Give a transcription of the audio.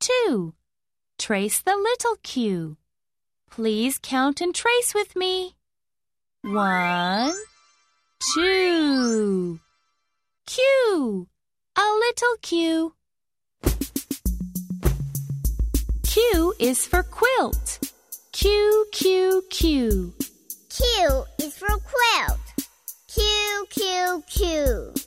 2. Trace the little q. Please count and trace with me. 1, 2. Q. A little q. Q is for quilt. Q, Q, Q. Q is for quilt. Q, Q, Q.